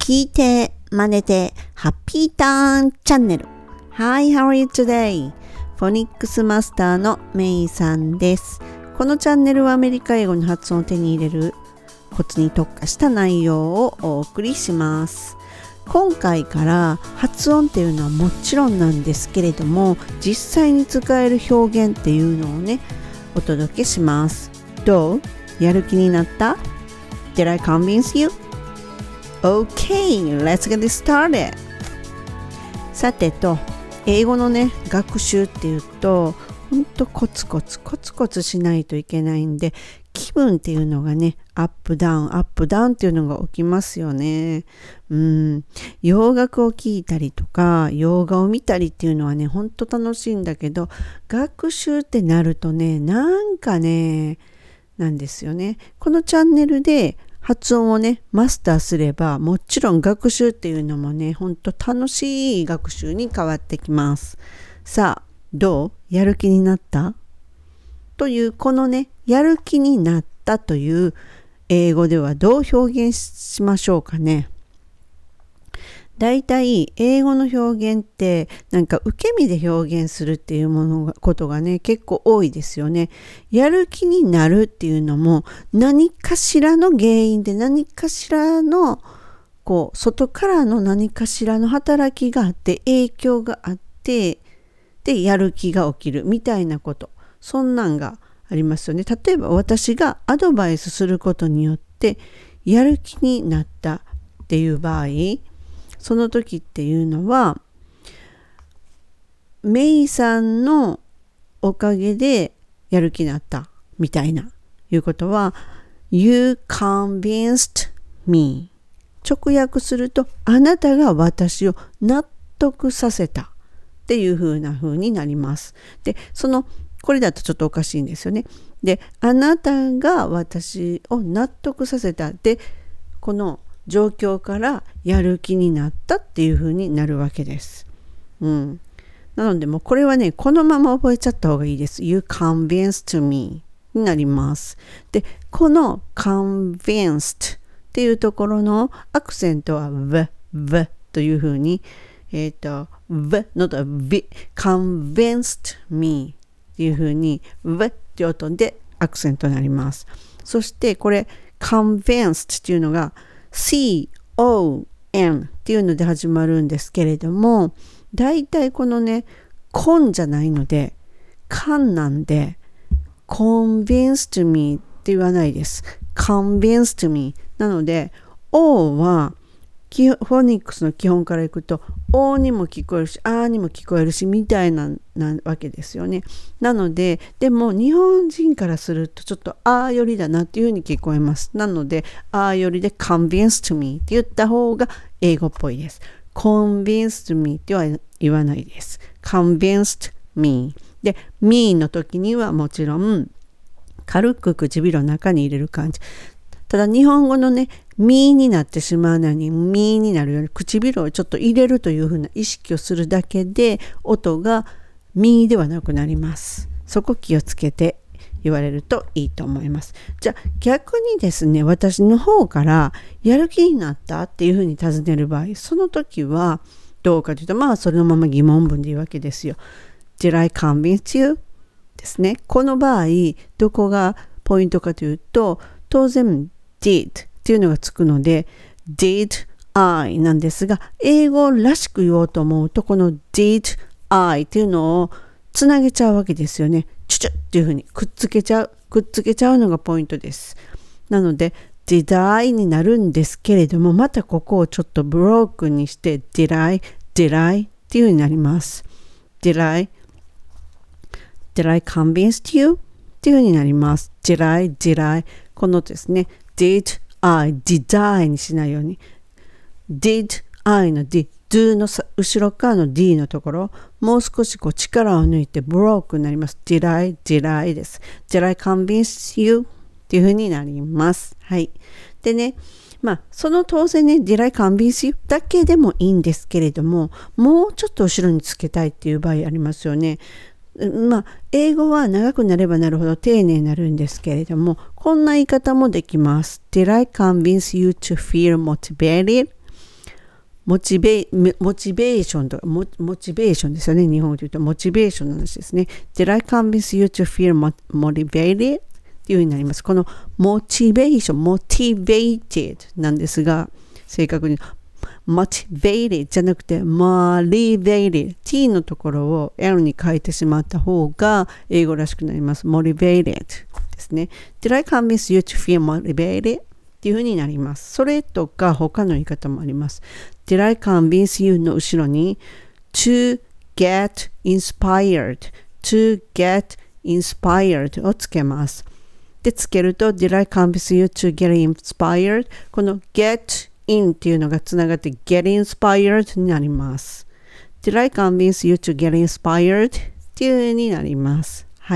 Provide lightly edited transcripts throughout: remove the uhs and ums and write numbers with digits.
聞いて、真似て、ハッピーターンチャンネル。Hi, how are you today? フォニックスマスターのメイさんです。このチャンネルはアメリカ英語の発音を手に入れるコツに特化した内容をお送りします。今回から発音っていうのはもちろんなんですけれども、実際に使える表現っていうのをね、お届けします。どう？やる気になった？ Did I convince you?Okay, let's get started. さてと、英語のね、学習っていうと、ほんとコツコツしないといけないんで、気分っていうのがね、アップダウンっていうのが起きますよね。洋楽を聴いたりとか、洋画を見たりっていうのはね、ほんと楽しいんだけど、学習ってなるとね、なんかね、なんですよね。このチャンネルで、発音をね、マスターすれば、もちろん学習っていうのもね、ほんと楽しい学習に変わってきます。さあ、どう？やる気になった？という、このね、やる気になったという英語ではどう表現しましょうかね。だいたい英語の表現ってなんか受け身で表現するっていうことがね結構多いですよね。やる気になるっていうのも何かしらの原因で何かしらの外からの何かしらの働きがあって影響があってでやる気が起きるみたいなこと、そんなんがありますよね。例えば私がアドバイスすることによってやる気になったっていう場合、その時っていうのはメイさんのおかげでやる気になったみたいないうことは You convinced me、 直訳するとあなたが私を納得させたっていう風になります。で、これだとちょっとおかしいんですよね。で、あなたが私を納得させたで、この状況からやる気になったっていう風になるわけです。なのでもうこれはね、このまま覚えちゃった方がいいです。You convinced me になります。で、この convinced っていうところのアクセントは v という風にv のと v convinced me っていう風に v って音でアクセントになります。そしてこれ convinced っていうのがCON っていうので始まるんですけれども、だいたいこのね、コンじゃないので、カンなんで、convinced me って言わないです。convinced me。なので、O は、フォニックスの基本からいくと、O にも聞こえるし、A にも聞こえるし、みたいなわけですよね。なので、でも日本人からするとちょっとAよりだなっていうふうに聞こえます。なので、Aよりで convinced me って言った方が英語っぽいです。convinced me っては言わないです。convinced me。で、me の時にはもちろん、軽く唇の中に入れる感じ。ただ日本語のね、ミーになってしまうのにミーになるように唇をちょっと入れるというふうな意識をするだけで音がミーではなくなります。そこ気をつけて言われるといいと思います。じゃあ逆にですね、私の方からやる気になったっていうふうに尋ねる場合、その時はどうかというと、そのまま疑問文で言うわけですよ。Did I convince you? ですね。この場合どこがポイントかというと、当然did っていうのがつくので did I なんですが、英語らしく言おうと思うとこの did I っていうのをつなげちゃうわけですよね。チュチュっていうふうにくっつけちゃうのがポイントです。なので did I になるんですけれども、またここをちょっとブロークにして did I っていうふうになります。did I convince you っていうふうになります。did I このですね、did I にしないように did I の do の後ろ側の d のところ、もう少し力を抜いてブロークになります。did I です。did I convince you っていう風になります。はい。でね、その当然ね、did I convince you だけでもいいんですけれども、もうちょっと後ろにつけたいっていう場合ありますよね。英語は長くなればなるほど丁寧になるんですけれども、こんな言い方もできます。Did I convince you to feel motivated? モチベーションとか、モチベーションですよね。日本語で言うとモチベーションの話ですね。Did I convince you to feel motivated? っていう風になります。このモチベーション、motivated なんですが、正確にmotivated じゃなくて motivated t のところを l に変えてしまった方が英語らしくなります。motivated ですね。Did I convince you to feel motivated? っていう風になります。それとか他の言い方もあります。Did I convince you の後ろに to get inspired をつけます。で、つけると Did I convince you to get inspired? この get in っていうのがつながって get inspired になります。Did I convince you to get inspired? っていう風になります。はい。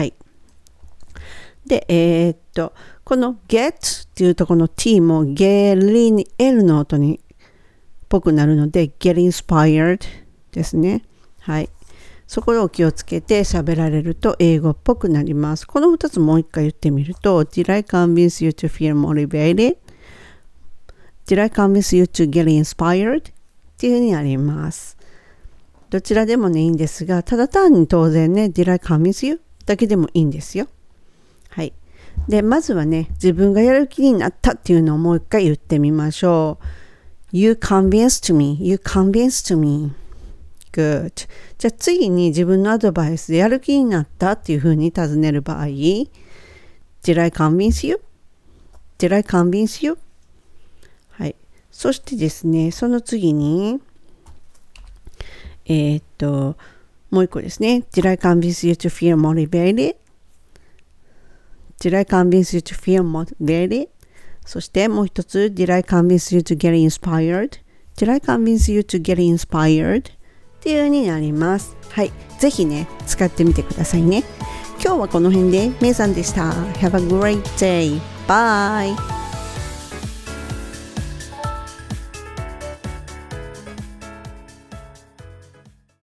で、この get っていうとこの t もゲリに l の音にっぽくなるので get inspired ですね。はい。そこを気をつけて喋られると英語っぽくなります。この2つもう一回言ってみると Did I convince you to feel motivated? Did I convince you to get inspired? っていう風になります。どちらでもねいいんですが、ただ単に当然ね Did I convince you? だけでもいいんですよ。はい。で、まずはね、自分がやる気になったっていうのをもう一回言ってみましょう。You convinced me. You convinced me. Good. じゃあ次に自分のアドバイスでやる気になったっていうふうに尋ねる場合、Did I convince you? Did I convince you? はい。そしてですね、その次に、もう一個ですね。Did I convince you to feel motivated?Did I convince you to feel motivated? そしてもう一つ Did I convince you to get inspired? Did I convince you to get inspired? っていう風になります。はい。ぜひね、使ってみてくださいね。今日はこの辺でメイさんでした。Have a great day. Bye!